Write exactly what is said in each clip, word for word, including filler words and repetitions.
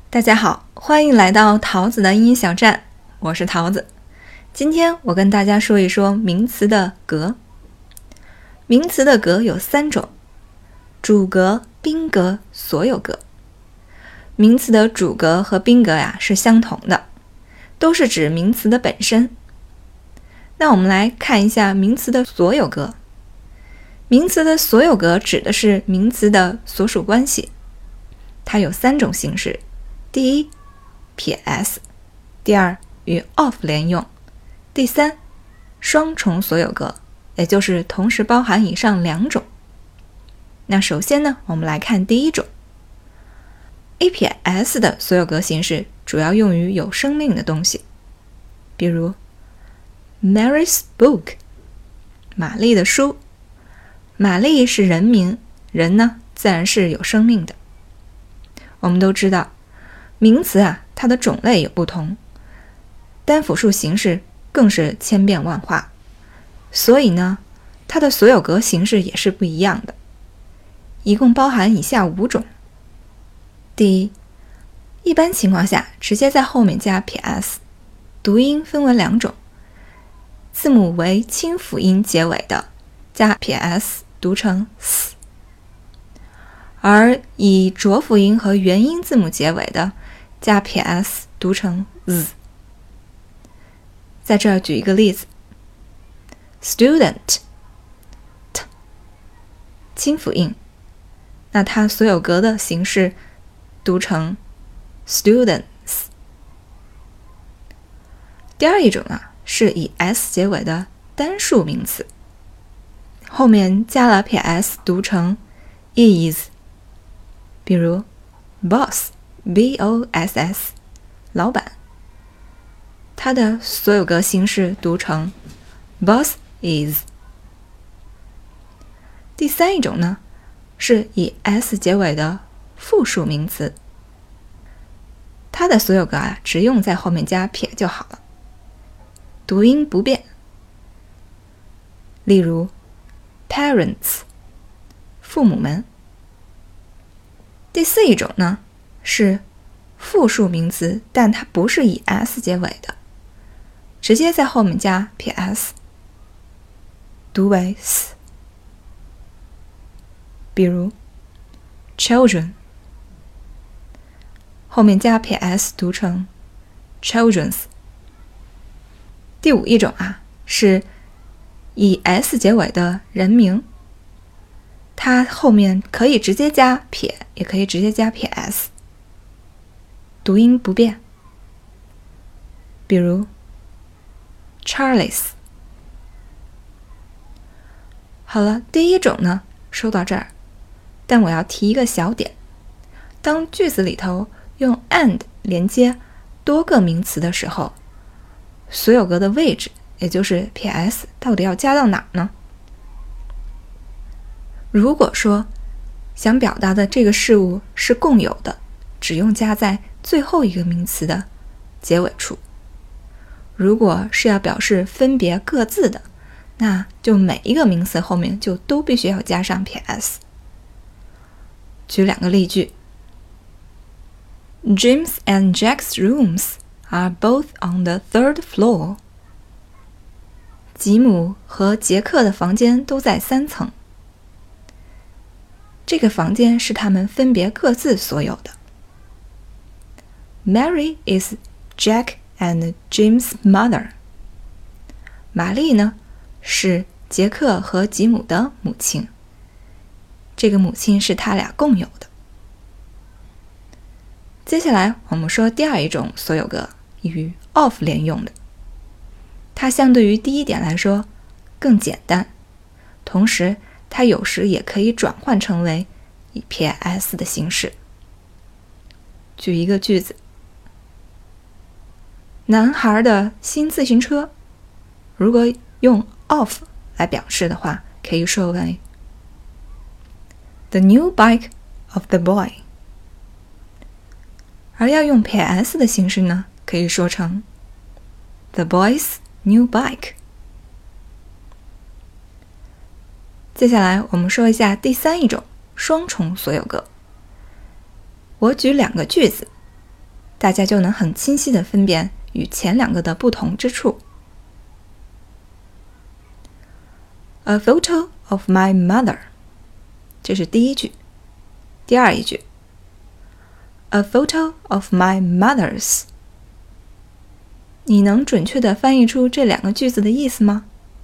大家好，欢迎来到桃子的英语小站，我是桃子。今天我跟大家说一说名词的格。名词的格有三种：主格、宾格、所有格。名词的主格和宾格呀是相同的，都是指名词的本身。那我们来看一下名词的所有格。名词的所有格指的是名词的所属关系，它有三种形式。第一，撇 s； 第二，与 of 连用；第三，双重所有格，也就是同时包含以上两种。那首先呢，我们来看第一种。A 撇 s 的所有格形式主要用于有生命的东西，比如 Mary's book， 玛丽的书。玛丽是人名，人呢自然是有生命的。我们都知道名词啊，它的种类有不同，单复数形式更是千变万化，所以呢，它的所有格形式也是不一样的，一共包含以下五种。第一，一般情况下直接在后面加撇 s， 读音分为两种，字母为清辅音结尾的加撇 s 读成 s， 而以浊辅音和元音字母结尾的加撇 s 读成 z。 在这儿举一个例子， student t 清辅音，那它所有格的形式读成 students。 第二一种啊，是以 s 结尾的单数名词，后面加了撇 s 读成 is， 比如 boss B O S S 老板，它的所有格形式读成 boss is。 第三一种呢，是以 s 结尾的复数名词，它的所有格啊，只用在后面加撇就好了，读音不变。例如 parents 父母们。第四一种呢，是复数名词，但它不是以 s 结尾的，直接在后面加撇 s， 读为 s。 比如 children， 后面加撇 s 读成 children's。 第五一种啊，是以 s 结尾的人名，它后面可以直接加撇，也可以直接加撇 s， 读音不变。比如 Charles。 好了，第一种呢说到这儿，但我要提一个小点，当句子里头用 and 连接多个名词的时候，所有格的位置，也就是撇 s 到底要加到哪呢？如果说想表达的这个事物是共有的，只用加在最后一个名词的结尾处。如果是要表示分别各自的，那就每一个名词后面就都必须要加上撇 s。 举两个例句， James and Jack's rooms are both on the third floor。 吉姆和杰克的房间都在三层，这个房间是他们分别各自所有的。 Mary is Jack and Jim's mother。 玛丽呢，是杰克和吉姆的母亲，这个母亲是他俩共有的。接下来我们说第二一种所有格，与 of 连用的，它相对于第一点来说更简单，同时它有时也可以转换成为以撇 s 的形式。举一个句子，男孩的新自行车，如果用 of 来表示的话，可以说为 the new bike of the boy。 而要用撇 s 的形式呢，可以说成 the boy's new bike。 接下来我们说一下第三一种双重所有格。我举两个句子， 大家就能很清晰地分辨与前两个的不同之处。A photo of my mother， 这是第一句。第二一句 A photo of my mother's， 你能准确地翻译出这两个句子的意思吗？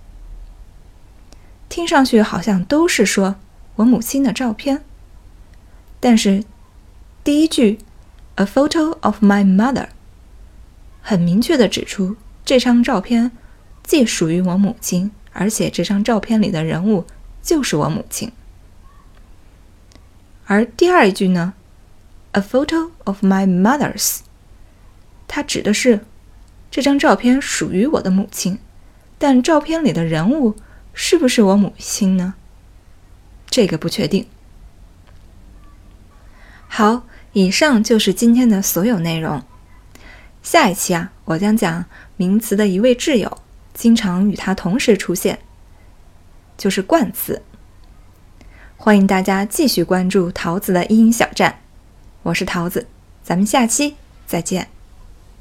听上去好像都是说我母亲的照片，但是第一句 A photo of my mother 很明确地指出这张照片既属于我母亲，而且这张照片里的人物就是我母亲。而第二一句呢 A photo of my mother's， 它指的是这张照片属于我的母亲，但照片里的人物是不是我母亲呢？这个不确定。好，以上就是今天的所有内容。下一期啊，我将讲名词的一位挚友，经常与它同时出现，就是冠词。欢迎大家继续关注桃子的英语小站，我是桃子，咱们下期再见。